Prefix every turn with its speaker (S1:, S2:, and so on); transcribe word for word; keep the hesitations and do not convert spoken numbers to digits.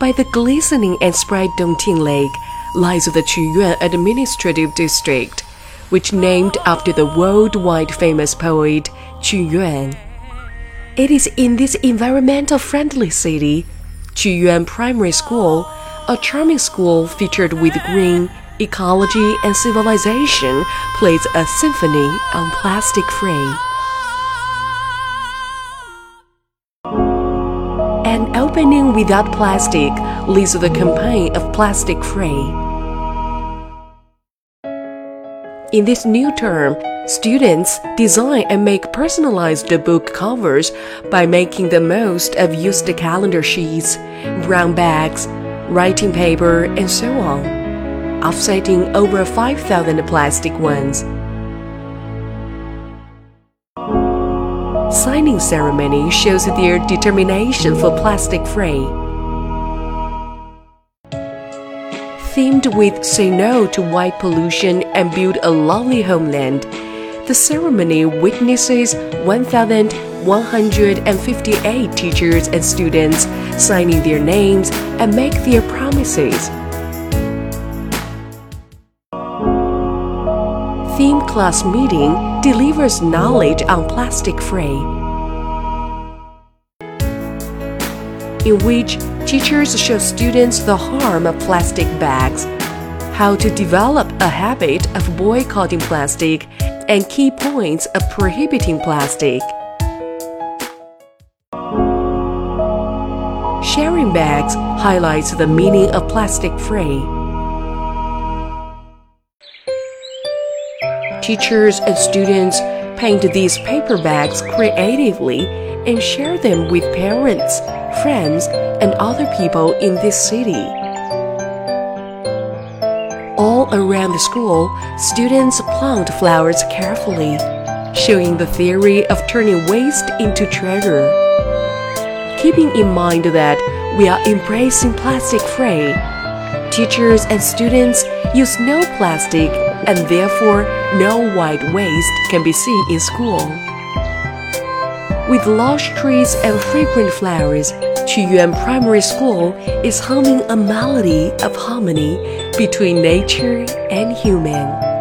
S1: by the glistening and bright Dongting Lake lies the Quyuan Administrative District, which named after the worldwide famous poet Qu Yuan. It is in this environmental-friendly city, Quyuan Primary School, a charming school featured with green, ecology, and civilization, plays a symphony on plastic-free. An opening without plastic leads to the campaign of plastic-free. In this new term, students design and make personalized book covers by making the most of used calendar sheets, brown bags, writing paper, and so on, offsetting over five thousand plastic ones. Signing ceremony shows their determination for plastic-free. Themed with Say No to White Pollution and Build a Lovely Homeland, the ceremony witnesses one thousand one hundred fifty-eight teachers and students signing their names and make their promises. Theme class meeting delivers knowledge on plastic-free, in which teachers show students the harm of plastic bags, how to develop a habit of boycotting plastic, and key points of prohibiting plastic. Sharing bags highlights the meaning of plastic-free. Teachers and students paint these paper bags creatively and share them with parents, friends, and other people in this city. All around the school, students plant flowers carefully, showing the theory of turning waste into treasure. Keeping in mind that we are embracing plastic-free, teachers and students use no plastic, and therefore no white waste can be seen in school. With lush trees and fragrant flowers, Quyuan Primary School is humming a melody of harmony between nature and human.